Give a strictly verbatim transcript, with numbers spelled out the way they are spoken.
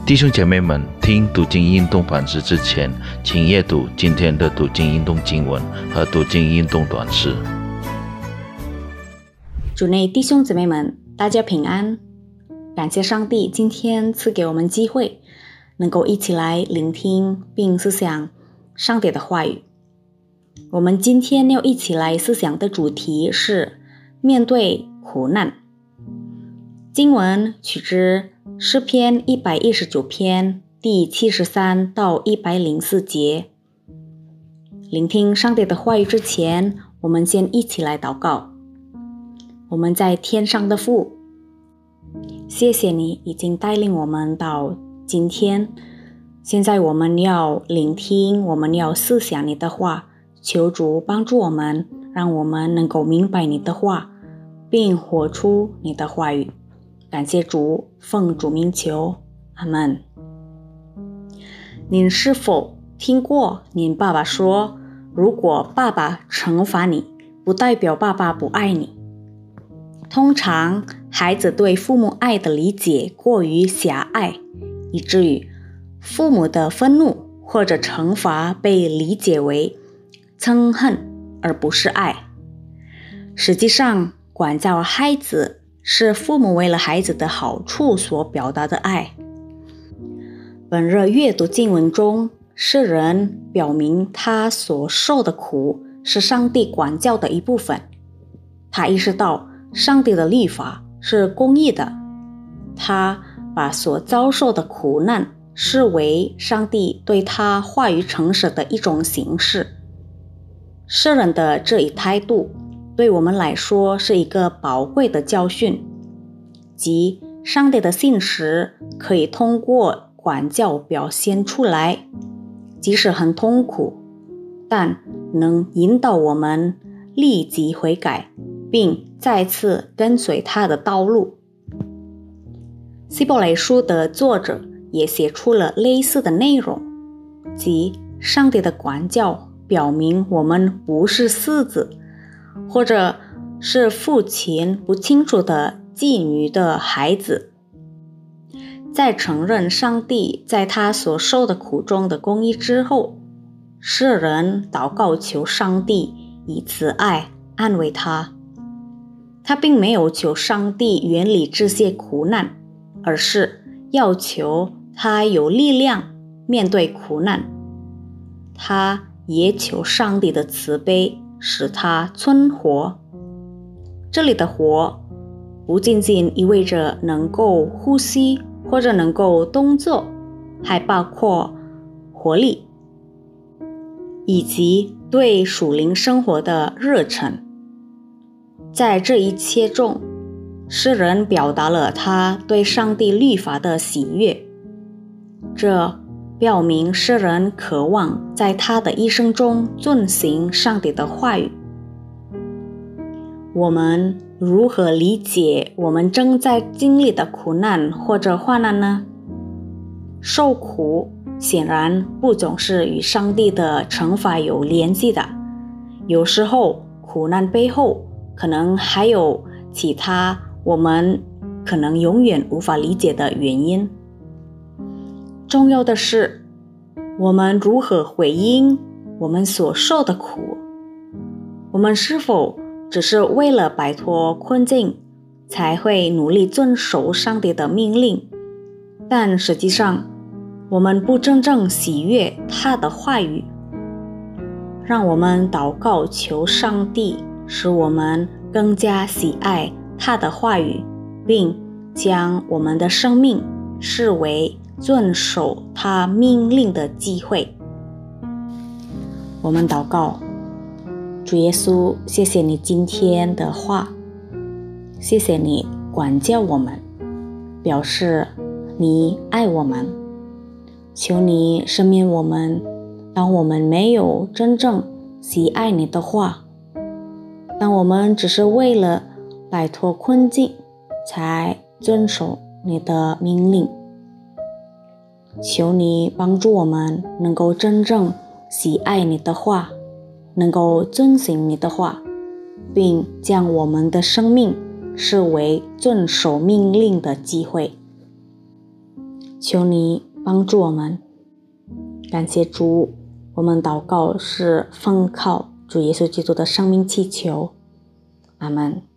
弟兄姐妹们，听读经运动反思之前，请阅读今天的读经运动经文和读经运动短诗。 主内弟兄姊妹们，大家平安！感谢上帝今天赐给我们机会，能够一起来聆听并思想上帝的话语。我们今天要一起来思想的主题是面对苦难。经文取自诗篇一百一十九篇第七十三到一百零四节。聆听上帝的话语之前，我们先一起来祷告。我们在天上的父，谢谢你已经带领我们到今天，现在我们要聆听，我们要思想你的话，求主帮助我们，让我们能够明白你的话，并活出你的话语。感谢主，奉主名求，阿们。您是否听过您爸爸说，如果爸爸惩罚你，不代表爸爸不爱你？通常孩子对父母爱的理解过于狭隘，以至于父母的愤怒或者惩罚被理解为憎恨而不是爱。实际上，管教孩子是父母为了孩子的好处所表达的爱。本日阅读经文中，诗人表明他所受的苦是上帝管教的一部分。他意识到上帝的律法是公义的，他把所遭受的苦难视为上帝对他话语诚实的一种形式。诗人的这一态度对我们来说是一个宝贵的教训，即上帝的信实可以通过管教表现出来，即使很痛苦，但能引导我们立即悔改，并再次跟随他的道路。希伯来书的作者也写出了类似的内容，即上帝的管教表明我们不是嗣子，或者是父亲不清楚的妓女的孩子。在承认上帝在他所受的苦中的公义之后，诗人祷告求上帝以慈爱安慰他。他并没有求上帝远离这些苦难，而是要求他有力量面对苦难。他也求上帝的慈悲使他存活。这里的活不仅仅意味着能够呼吸或者能够动作，还包括活力以及对属灵生活的热忱。在这一切中，诗人表达了他对上帝律法的喜悦，这表明诗人渴望在他的一生中遵行上帝的话语。我们如何理解我们正在经历的苦难或者患难呢？受苦显然不总是与上帝的惩罚有联系的，有时候苦难背后可能还有其他我们可能永远无法理解的原因。重要的是，我们如何回应我们所受的苦？我们是否只是为了摆脱困境才会努力遵守上帝的命令，但实际上我们不真正喜悦他的话语？让我们祷告求上帝使我们更加喜爱他的话语，并将我们的生命视为遵守他命令的机会。我们祷告，主耶稣，谢谢你今天的话，谢谢你管教我们，表示你爱我们。求你赦免我们，当我们没有真正喜爱你的话，当我们只是为了摆脱困境才遵守你的命令。求你帮助我们能够真正喜爱你的话，能够遵行你的话，并将我们的生命视为遵守命令的机会。 求你帮助我们。感谢主，我们祷告是奉靠主耶稣基督的生命祈求，阿们。